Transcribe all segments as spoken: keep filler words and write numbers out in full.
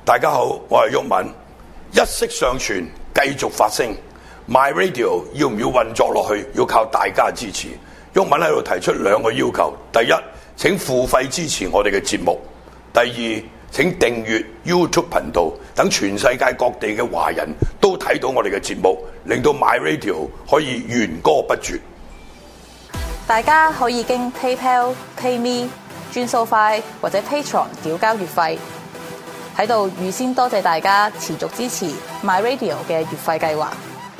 大家好，我係毓民，一息尚存，繼續發聲。My Radio 要唔要運作落去？要靠大家支持。毓民喺度提出兩個要求：第一，請付費支持我哋嘅節目；第二，請訂閱 YouTube 頻道，等全世界各地嘅華人都睇到我哋嘅節目，令到 My Radio 可以弦歌不絕。 大家可以經 PayPal、PayMe、轉數快或者 Patreon 繳交月費。喺度預先多謝大家持續支持 My Radio 嘅月費計劃。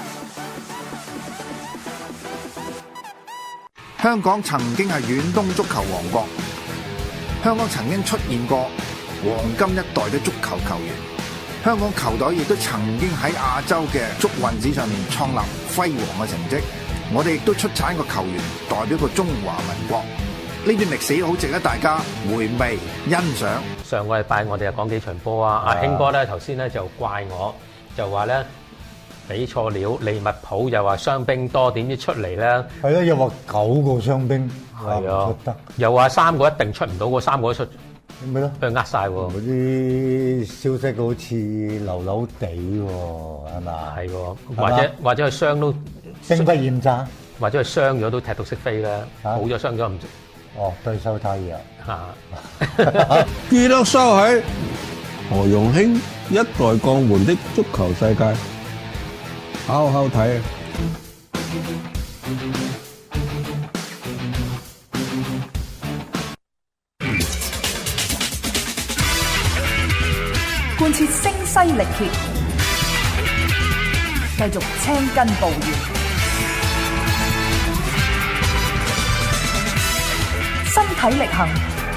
香港曾經係遠東足球王國，香港曾經出現過黃金一代嘅足球球員，香港球隊亦都曾經喺亞洲嘅足運史上面創立輝煌嘅成績。我哋亦都出產個球員代表個中華民國，呢段歷史好值得大家回味欣賞。 上個禮拜我哋又講幾場波啊！阿興哥咧頭先咧就怪我，就話咧俾錯料，利物浦又話傷兵多，點知出嚟咧？ 係啊，又話九個傷兵， 係啊，又話三個一定出唔到，嗰三個都出， 咪咯， 俾佢呃晒喎。 嗰啲消息好似流流地喎，係嘛？ 係喎，或者或者佢傷都兵不厭詐， 或者佢傷咗都踢到識飛啦，冇咗傷咗唔。 哦，對手太弱嚇！ 記得收喺何容興一代鋼門的足球世界，好好睇啊！ 貫徹聲嘶力竭，繼續青筋暴現。身體力行，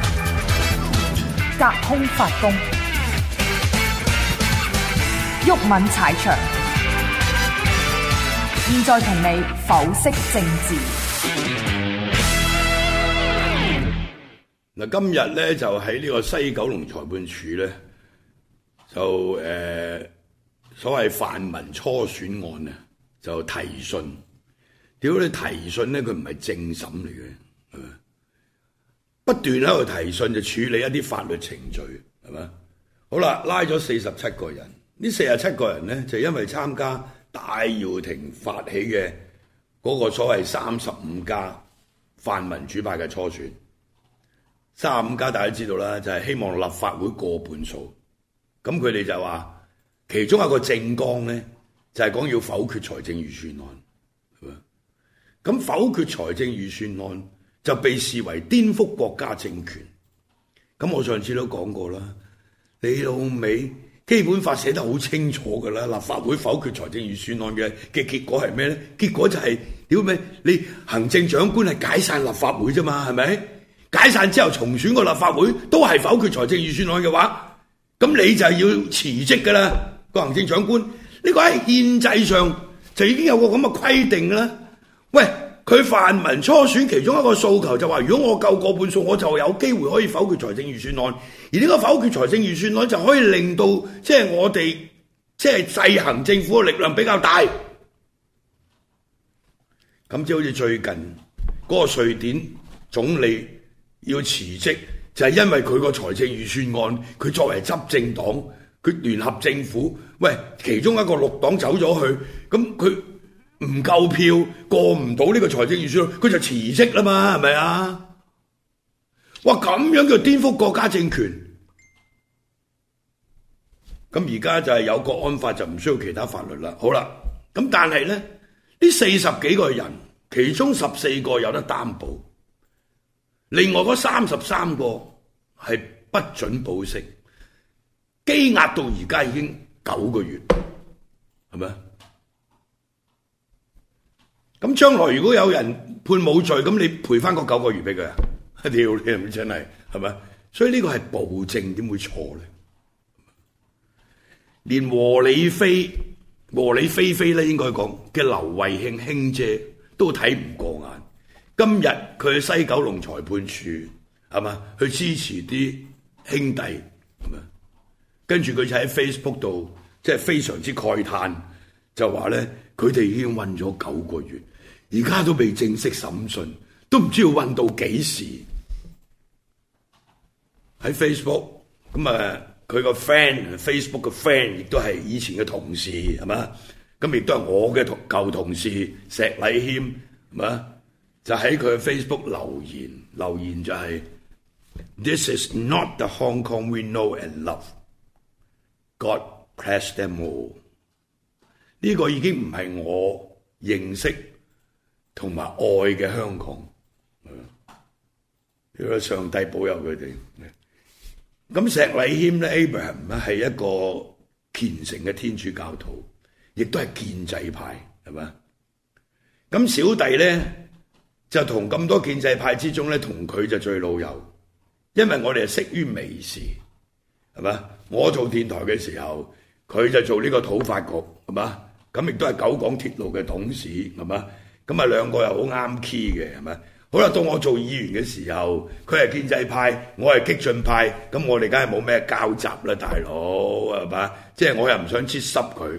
隔空發功，毓民踩場。現在同你剖析政治。 嗱，今日咧就喺呢個西九龍裁判處咧，就誒、呃、所謂泛民初選案啊，就提訊。屌你提訊咧，佢唔係正審嚟嘅，係咪？不斷喺度提訊就處理一啲法律程序，係咪？好啦，拉咗四十七個人，呢四十七個人咧就因為參加戴耀廷發起嘅嗰個所謂三十五家泛民主派嘅初選，三十五家大家知道啦，就係希望立法會過半數。咁佢哋就話，其中一個政綱咧就係講要否決財政預算案，係咪？咁否決財政預算案就被視為顛覆國家政權。咁我上次都講過啦，你老味基本法寫得好清楚㗎啦，立法會否決財政預算案嘅嘅結果係咩咧？結果就係屌咩？你行政長官係解散立法會啫嘛，係咪？解散之後重選個立法會都係否決財政預算案嘅話，咁你就係要辭職㗎啦，個行政長官。呢個喺憲制上就已經有個咁嘅規定㗎啦。喂！佢泛民初選其中一個訴求就話，如果我夠過半數，我就有機會可以否決財政預算案。而呢個否決財政預算案就可以令到即係我哋即係制衡政府嘅力量比較大。咁即係好似最近嗰個瑞典總理要辭職，就係因為佢個財政預算案，佢作為執政黨，佢聯合政府，喂，其中一個綠黨走咗去，咁佢唔夠票過唔到呢個財政預算案，佢就辭職啦嘛，係咪啊？哇，咁樣叫顛覆國家政權。咁而家就係有國安法，就唔需要其他法律啦。好啦，咁但係咧，呢四十幾個人，其中十四個有得擔保，另外嗰三十三個係不准保釋，羈押到而家已經九個月，係咪？咁將來如果有人判冇罪，咁你賠翻個九個月俾佢啊？屌你係咪真係係咪？所以呢個係暴政，點會錯咧？連和理非、和理非非咧，應該講嘅劉慧卿卿姐都睇唔過眼。今日佢去西九龍裁判處係嘛，去支持啲兄弟係嘛，跟住佢就喺 Facebook 度即係非常之慨嘆，就話咧佢哋已經韞咗九個月。而家都未正式審訊，都唔知要韞到幾時。喺 Facebook 咁啊， 佢個 friend，Facebook 嘅 friend 亦都係以前嘅同事，係嘛？咁亦都係我嘅同舊同事石禮謙，係嘛？就喺佢嘅 Facebook 留言，留言就係、是、This is not the Hong Kong we know and love. God bless them all. 呢個已經唔係我認識同埋愛嘅香港。呢個上帝保佑佢哋。咁石禮謙咧 ，Abraham 咧係一個虔誠嘅天主教徒，亦都係建制派，係嘛？咁小弟咧就同咁多建制派之中咧，同佢就最老友，因為我哋係識於微時，係嘛？我做電台嘅時候，佢就做呢個土發局，係嘛？咁亦都係九廣鐵路嘅董事，係嘛？咁啊兩個又好啱 key 嘅，係咪？好啦，到我做議員嘅時候，佢係建制派，我係激進派，咁我哋梗係冇咩交集啦，大佬係嘛？即係我又唔想切濕佢，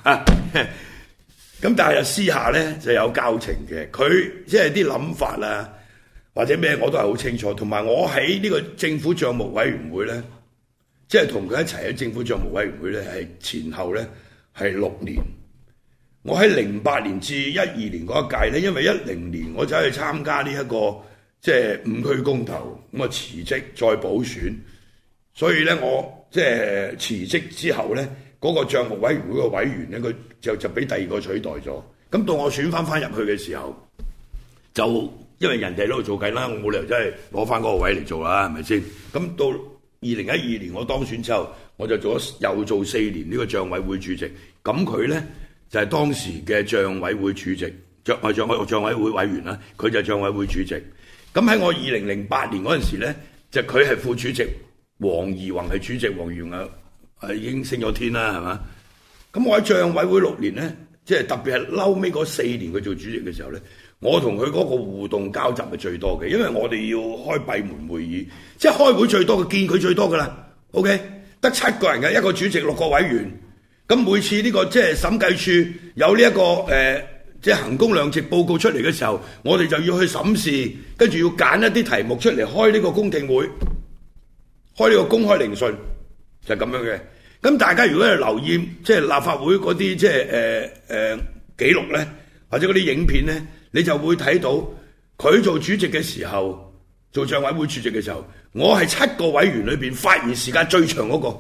咁但係又私下咧就有交情嘅。佢即係啲諗法啦，或者咩我都係好清楚。同埋我喺呢個政府帳目委員會咧，即係同佢一齊喺政府帳目委員會咧，係前後咧係六年。我喺零八年至一二年嗰一屆咧，因為一零年我走去參加呢、這、一個即係五區公投，咁啊辭職再補選，所以咧我即係辭職之後咧，嗰、那個帳目委員會嘅委員咧，佢就就俾第二個取代咗。咁到我選翻翻入去嘅時候，就因為人哋喺度做緊啦，我冇理由真係攞翻嗰個位嚟做啦，係咪先？咁到二零一二年我當選之後，我就做咗又做四年呢個帳委會主席。咁佢咧就係當時嘅帳委會主席，帳啊帳委帳委會委員啦，佢就係帳委會主席。咁喺我二零零八年嗰陣時咧，就佢係副主席，黃宜宏係主席，黃宜宏啊係已經升咗天啦，係嘛？咁我喺帳委會六年咧，即係特別係嬲尾嗰四年佢做主席嘅時候咧，我同佢嗰個互動交集係最多嘅，因為我哋要開閉門會議，即係開會最多嘅，見佢最多噶啦。OK，得七個人嘅，一個主席，六個委員。咁每次呢、這個即係審計處有呢、這、一個誒、呃，即係衡工量值報告出嚟嘅時候，我哋就要去審視，跟住要揀一啲題目出嚟開呢個公聽會，開呢個公開聆訊，就係、是、咁樣嘅。咁大家如果係留意即係立法會嗰啲即係誒誒記錄咧，或者嗰啲影片咧，你就會睇到佢做主席嘅時候，做帳委會主席嘅時候，我係七個委員裏邊發言時間最長嗰、那個。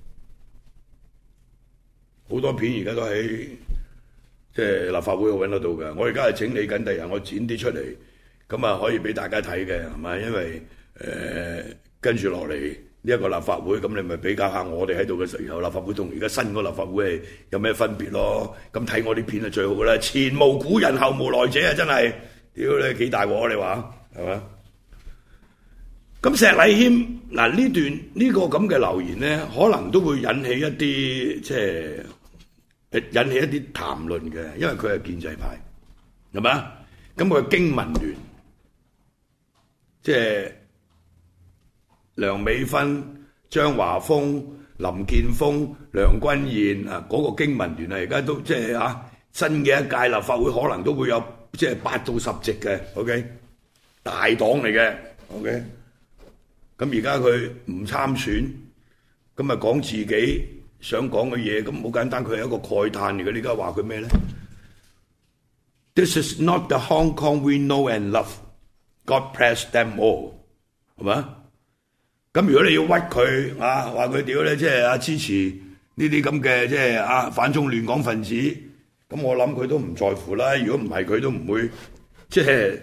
好多片而家都喺即係立法會度揾得到嘅，我而家係整理緊，第日我剪啲出嚟，咁啊可以俾大家睇嘅，係咪？因為誒、呃、跟住落嚟呢一個立法會，咁你咪比較下我哋喺度嘅時候，立法會同而家新個立法會係有咩分別咯？咁睇我啲片係最好嘅啦，前無古人後無來者啊！真係，屌你幾大鑊你話係嘛？咁石禮謙嗱呢段呢、這個咁嘅留言咧，可能都會引起一啲即係引起一啲談論嘅，因為佢係建制派，係嘛？咁佢經民聯即係梁美芬、張華峰、林健鋒、梁君彥啊，嗰、那個經民聯啊，而家都即係啊新嘅一屆立法會可能都會有即係八到十席嘅 ，OK 大黨嚟嘅 ，OK。咁而家佢唔參選，咁咪講自己想講嘅嘢，咁好簡單，佢係一個慨嘆嚟嘅。你而家話佢咩咧 ？This is not the Hong Kong we know and love. God bless them all， 係嘛？咁如果你要屈佢啊，話佢屌咧，即係啊支持呢啲咁嘅即係啊反中亂港分子，咁我諗佢都唔在乎啦。如果唔係，佢都唔會即係。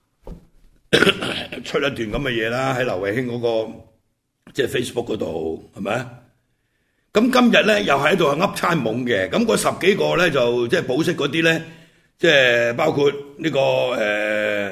出一段咁嘅嘢啦，喺劉慧卿嗰個即係 Facebook 嗰度，係咪？咁今日咧又喺度係噏餐懵嘅，咁嗰十幾個咧就即係保釋嗰啲咧，即係包括呢、這個誒、呃、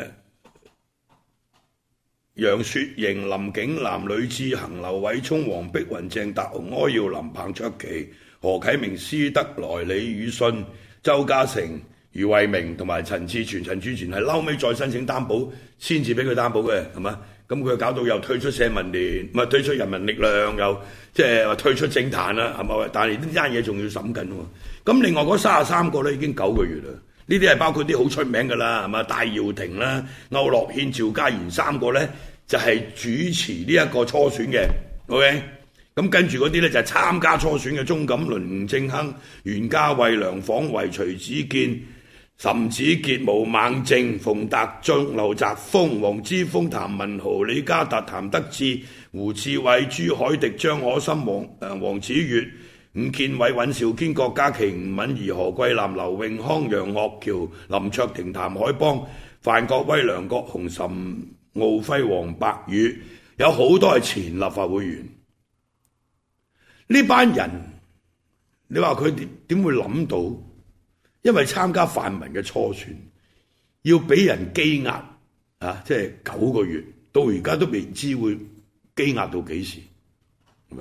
楊雪瑩、林景南、呂志恆、劉偉聰、黃碧雲、鄭達鴻、柯耀林、彭卓棋、何啟明、施德來、李宇信、周家成、余慧明同埋陳志全、陳志全係嬲尾再申請擔保先至俾佢擔保嘅，係嘛？咁佢搞到又退出社民聯，唔係退出人民力量，又即係話退出政壇啦，係咪？但係呢單嘢仲要審緊喎。咁另外嗰三十三個咧已經九個月啦，呢啲係包括啲好出名㗎啦，係嘛？戴耀廷啦、區諾軒、趙家賢三個咧就係、是、主持呢一個初選嘅 ，OK？ 咁跟住嗰啲咧就係參加初選嘅鐘錦麟、吳政亨、袁嘉蔚、梁晃維、徐子健、岑子傑、毛孟靜、馮達忠、劉澤鋒、黃之鋒、譚文豪、李家達、譚德志、胡志偉、朱凱迪、張可森、黃誒黃子悅、伍建偉、尹兆堅、郭家麒、吳敏儀、何桂藍、劉永康、楊岳橋、林卓廷、譚海邦、范國威、梁國雄、岑敖暉、黃伯宇，有好多係前立法會議員。呢班人，你話佢點點會諗到？因為參加泛民嘅初選，要俾人羈押啊！即係九個月，到而家都未知會羈押到幾時，係咪？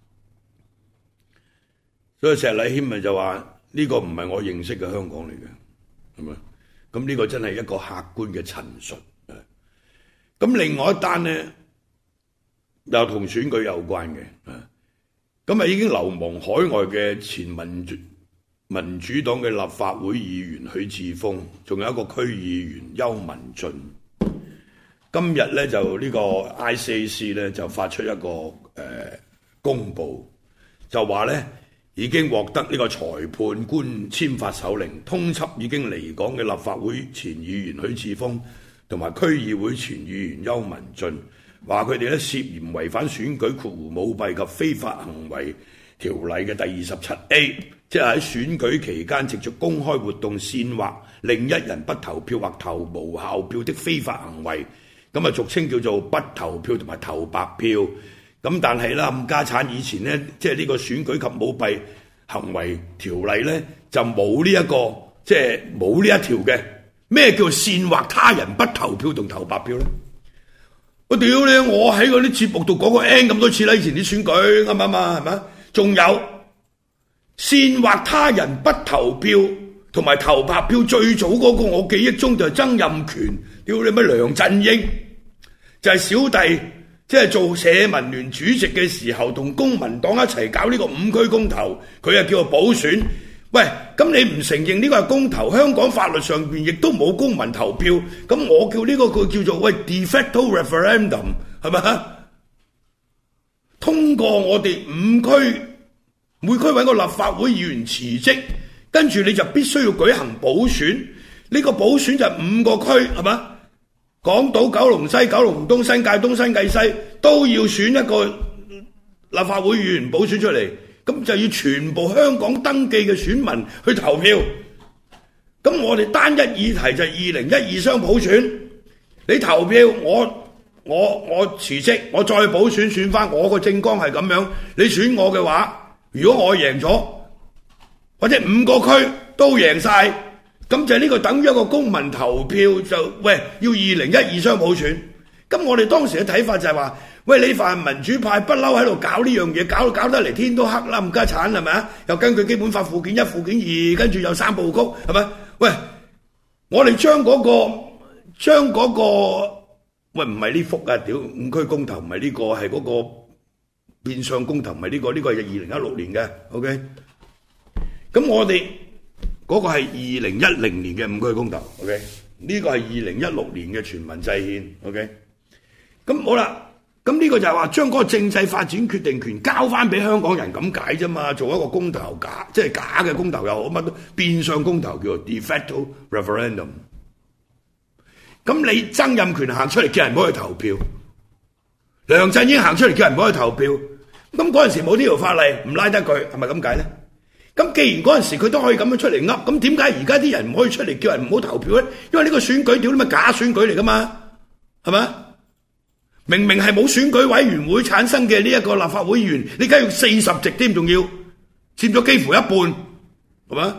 所以石禮謙咪就話呢個唔係我認識嘅香港嚟嘅，係咪？咁呢個真係一個客觀嘅陳述。咁另外一單呢，又同選舉有關嘅，咁啊已經流亡海外嘅前民主民主黨嘅立法會議員許智峰，仲有一個區議員邱文俊。今日咧就呢個 I C A C 咧就發出一個誒、呃、公佈，就話咧已經獲得呢個裁判官簽發手令，通緝已經離港嘅立法會前議員許智峰同埋區議會前議員邱文俊，話佢哋咧涉嫌違反選舉括弧舞弊及非法行為條例嘅第二十七 A， 即係喺選舉期間藉著公開活動煽惑另一人不投票或投無效票的非法行為，咁啊俗稱叫做不投票同埋投白票。咁但係啦，冚家產以前呢，即係呢個選舉及舞弊行為條例呢，就冇呢一個即係冇呢一條嘅。咩叫煽惑他人不投票同投白票呢？我屌你！我喺嗰啲節目度講過 N 咁多次啦，以前啲選舉啱唔啱啊？係咪？仲有煽惑他人不投票同埋投白票，最早嗰個我記憶中就係曾蔭權，屌你乜梁振英，就係、是、小弟即係、就是、做社民聯主席嘅時候，同公民黨一齊搞呢個五區公投，佢又叫做補選。喂，咁你唔承認呢個係公投，香港法律上邊亦都冇公民投票，咁我叫呢個佢叫做喂 de facto referendum 係咪？通過我哋五區每區揾個立法會議員辭職，跟住你就必須要舉行補選，呢、這個補選就五個區係嘛？港島、九龍西、九龍東、新界東、新界西都要選一個立法會議員補選出嚟。咁就要全部香港登記嘅選民去投票。咁我哋單一議題就係二零一二雙普選。你投票，我我我辭職，我再補選選翻我個政綱係咁樣。你選我嘅話，如果我贏咗，或者五個區都贏晒，咁就呢個等於一個公民投票就喂要二零一二雙普選。咁我哋當時嘅睇法就係話。喂，你泛民主派不嬲喺度搞呢樣嘢，搞搞得嚟天都黑啦，冚家鏟係咪啊？又根據基本法附件一、附件二，跟住有三部曲，係咪？喂，我哋將嗰個將嗰個喂唔係呢幅啊，屌五區公投唔係呢個，係嗰個變相公投唔係呢個，呢個係二零一六年嘅 ，OK。咁我哋嗰個係二零一零年嘅五區公投 ，OK。呢個係二零一六年嘅全民制憲 ，OK。咁好啦。咁呢個就係話將嗰個政制發展決定權交翻俾香港人咁解啫嘛，做一個公投假，即係假嘅公投又好，乜都變相公投叫做 de facto referendum。咁你曾蔭權行出嚟叫人唔好去投票，梁振英行出嚟叫人唔好去投票，咁嗰陣時冇呢條法例，唔拉得佢，係咪咁解咧？咁既然嗰陣時佢都可以咁樣出嚟噏，咁點解而家啲人唔可以出嚟叫人唔好投票咧？因為呢個選舉屌你咪假選舉嚟噶嘛，係咪？明明係冇選舉委員會產生嘅呢一個立法會議員，你而家用四十席添，仲要佔咗幾乎一半，係嘛？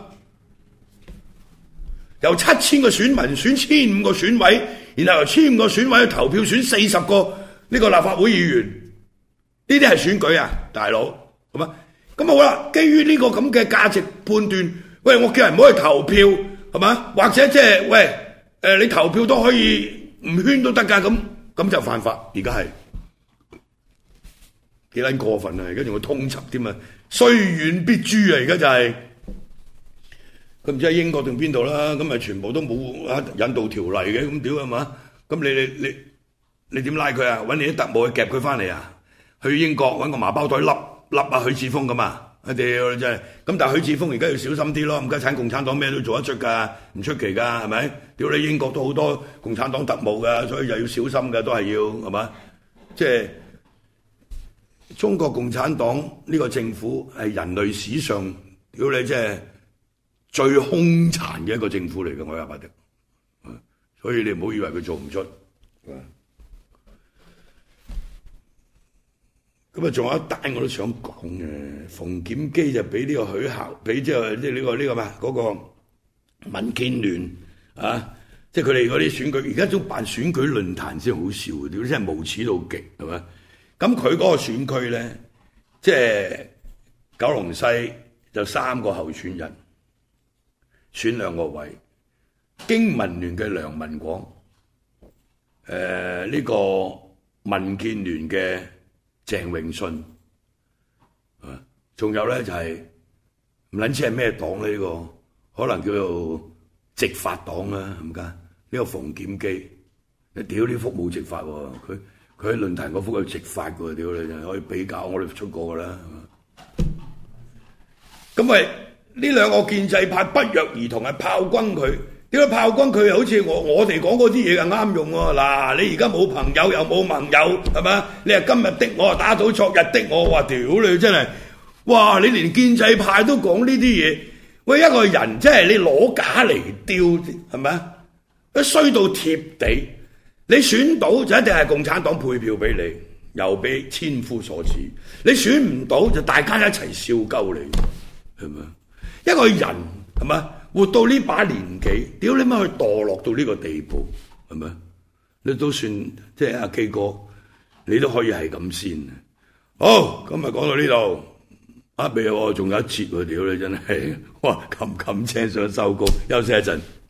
由七千個選民選千五個選委，然後由千五個選委去投票選四十個呢個立法會議員，呢啲係選舉啊，大佬，係嘛？咁好啦，基於呢個咁嘅價值判斷，喂，我叫人唔好去投票，係嘛？或者即係喂，誒，你投票都可以唔圈都得㗎咁。咁就犯法，而家係幾撚過分啊！而家仲要通緝添啊，雖遠必誅啊！而家就係佢唔知喺英國定邊度啦，咁咪全部都冇啊引渡條例嘅，咁屌係嘛？咁你你你你點拉佢啊？揾你啲特務去夾佢翻嚟啊？ 去英國揾個麻包袋笠笠啊許智峰咁啊！我屌真係，咁但係許智峰而家要小心啲咯，唔家產共產黨咩都做得出㗎，唔出奇㗎，係咪？屌你英國都好多共產黨特務㗎，所以就要小心㗎，都係要係嘛？即係中國共產黨呢個政府係人類史上屌你即係最兇殘嘅一個政府嚟嘅，我話得，所以你唔好以為佢做唔出。咁啊，仲有一單我都想講嘅，馮檢基就俾呢個許效，俾即係即係呢個呢、呢個咩嗰、嗰個民建聯啊，即係佢哋嗰啲選舉，而家都辦選舉論壇先好笑，屌真係無恥到極，係咪？咁佢嗰個選區咧，即係九龍西就三個候選人選兩個位，經民聯嘅梁文廣，誒、呃、呢、呢個民建聯嘅鄭永信，啊，仲有咧就係唔撚知係咩黨咧？呢、呢個可能叫做直法黨啦，咁解？呢個馮檢基，你屌呢幅冇直法喎，佢佢喺論壇嗰幅係直法嘅喎，屌你可以比較，我哋出過㗎啦。咁咪呢兩個建制派不約而同係炮轟佢。點解炮轟佢又好似我我哋講嗰啲嘢咁啱用喎？嗱，你而家冇朋友又冇盟友，係咪？你係今日的我，打倒昨日的我，話屌你真係，哇！你連建制派都講呢啲嘢，喂，一個人真係你攞假嚟丟，係咪？一衰到貼地，你選到就一定係共產黨配票俾你，又俾千夫所指；你選唔到就大家一齊笑鳩你，係咪？一個人係咪？活到呢把年紀，屌你媽去墮落到呢個地步，係咪？你都算即係阿基哥，你都可以係咁先。好，今日講到呢度，啊，未有，仲有一節喎，屌你真係，哇，冚冚聲想收工，休息一陣。